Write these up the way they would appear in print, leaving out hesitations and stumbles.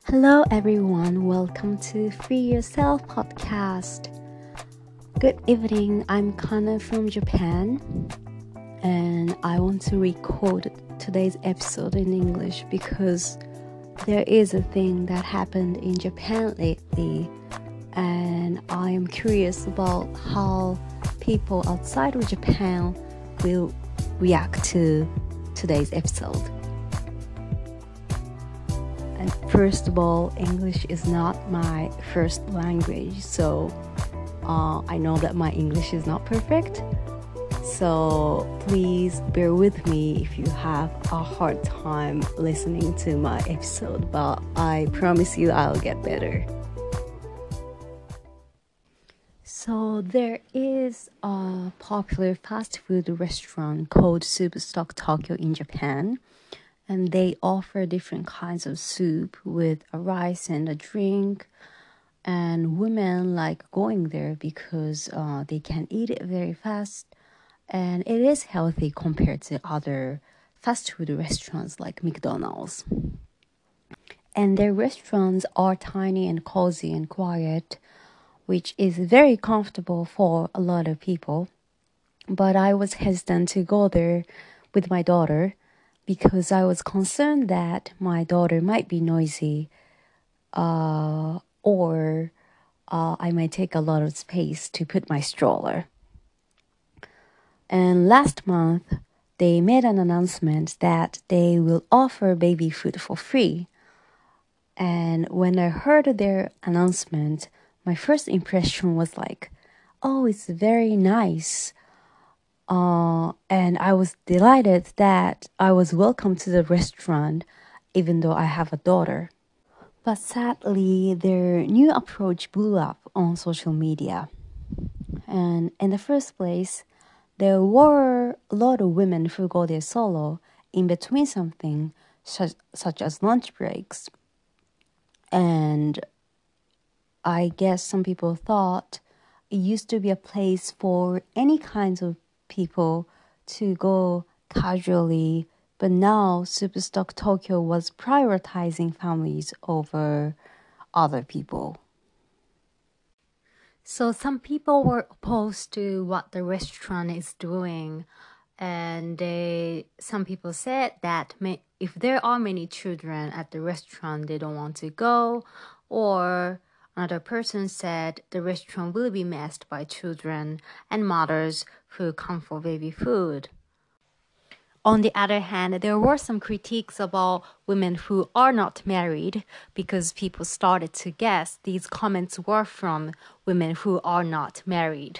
Hello everyone, welcome to Free Yourself podcast. Good evening, I'm Kana from Japan and I want to record today's episode in English because there is a thing that happened in Japan lately and I am curious about how people outside of Japan will react to today's episode. And first of all, English is not my first language, so I know that my English is not perfect. So please bear with me if you have a hard time listening to my episode, but I promise you I'll get better. So there is a popular fast food restaurant called Superstock Tokyo in Japan. And they offer different kinds of soup with a rice and a drink. And women like going there because they can eat it very fast. And it is healthy compared to other fast food restaurants like McDonald's. And their restaurants are tiny and cozy and quiet, which is very comfortable for a lot of people. But I was hesitant to go there with my daughter because I was concerned that my daughter might be noisy or I might take a lot of space to put my stroller. And last month, they made an announcement that they will offer baby food for free. And when I heard their announcement, my first impression was like, oh, it's very nice. And I was delighted that I was welcome to the restaurant, even though I have a daughter. But sadly, their new approach blew up on social media. And in the first place, there were a lot of women who go there solo in between something, such as lunch breaks. And I guess some people thought it used to be a place for any kinds of people to go casually, but now Superstock Tokyo was prioritizing families over other people. So some people were opposed to what the restaurant is doing, and some people said that if there are many children at the restaurant, they don't want to go, or another person said the restaurant will be messed by children and mothers who come for baby food. On the other hand, there were some critiques about women who are not married because people started to guess these comments were from women who are not married.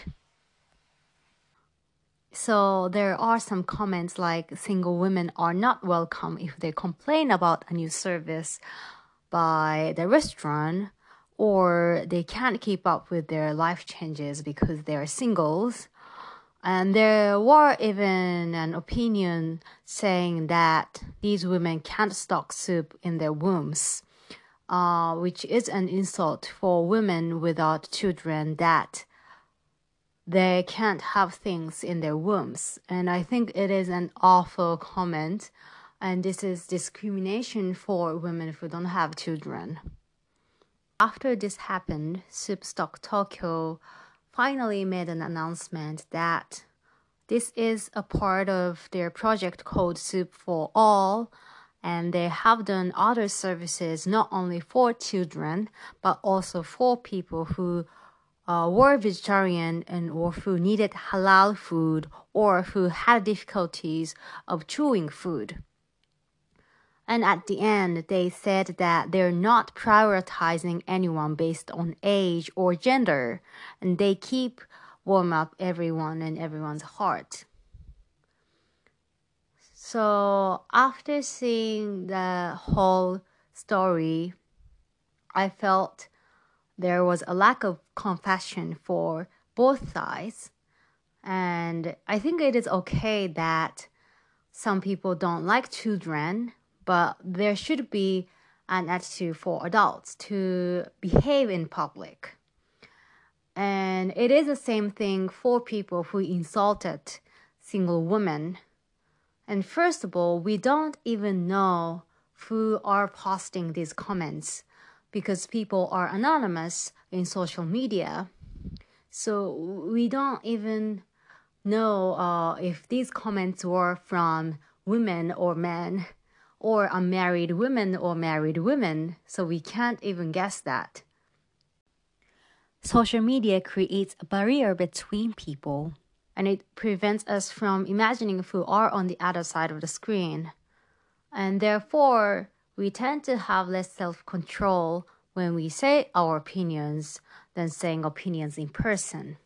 So there are some comments like single women are not welcome if they complain about a new service by the restaurant, or they can't keep up with their life changes because they are singles. And there were even an opinion saying that these women can't stock soup in their wombs, which is an insult for women without children, that they can't have things in their wombs. And I think it is an awful comment, and this is discrimination for women who don't have children. After this happened, Superstock Tokyo finally made an announcement that this is a part of their project called Soup for All, and they have done other services not only for children, but also for people who were vegetarian or who needed halal food or who had difficulties of chewing food. And at the end, they said that they're not prioritizing anyone based on age or gender, and they keep warm up everyone and everyone's heart. So after seeing the whole story, I felt there was a lack of compassion for both sides. And I think it is okay that some people don't like children, but there should be an attitude for adults to behave in public. And it is the same thing for people who insulted single women. And first of all, we don't even know who are posting these comments. because people are anonymous in social media. So we don't even know if these comments were from women or men, or unmarried women or married women. So we can't even guess that. Social media creates a barrier between people, and it prevents us from imagining who are on the other side of the screen. And therefore, we tend to have less self-control when we say our opinions than saying opinions in person.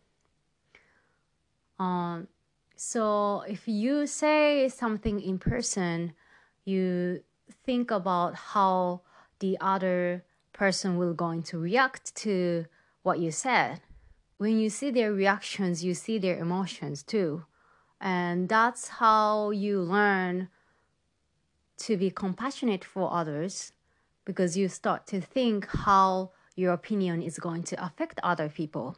So if you say something in person, you think about how the other person will going to react to what you said. When you see their reactions, you see their emotions too. And that's how you learn to be compassionate for others, because you start to think how your opinion is going to affect other people.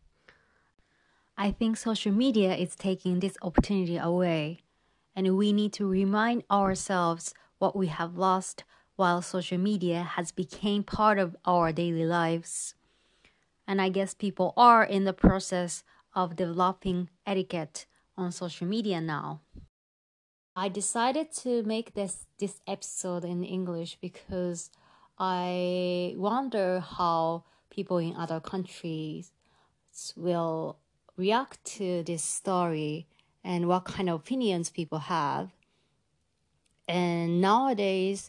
I think social media is taking this opportunity away, and we need to remind ourselves what we have lost while social media has become part of our daily lives. And I guess people are in the process of developing etiquette on social media now. I decided to make this episode in English because I wonder how people in other countries will react to this story and what kind of opinions people have. And nowadays,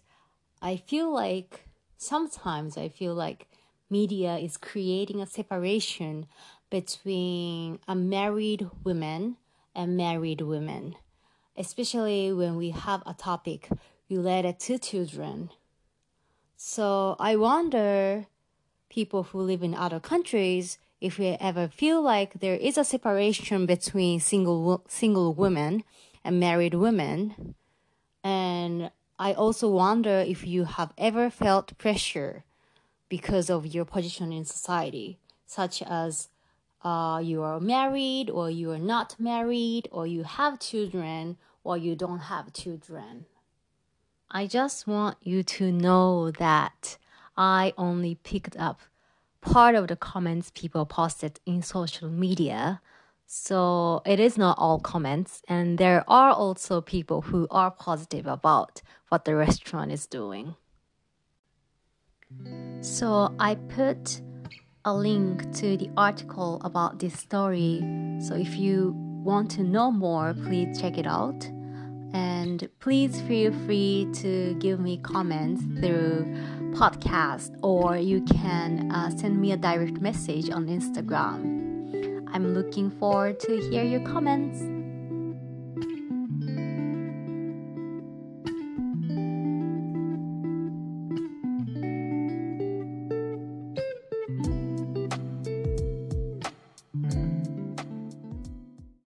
sometimes I feel like media is creating a separation between unmarried women and married women, especially when we have a topic related to children. So I wonder, people who live in other countries, if we ever feel like there is a separation between single women and married women. And I also wonder if you have ever felt pressure because of your position in society, such as you are married or you are not married, or you have children or you don't have children. I just want you to know that I only picked up part of the comments people posted in social media. So it is not all comments, and there are also people who are positive about what the restaurant is doing. So I put a link to the article about this story. So if you want to know more, please check it out. And please feel free to give me comments through podcast, or you can send me a direct message on Instagram. I'm looking forward to hear your comments.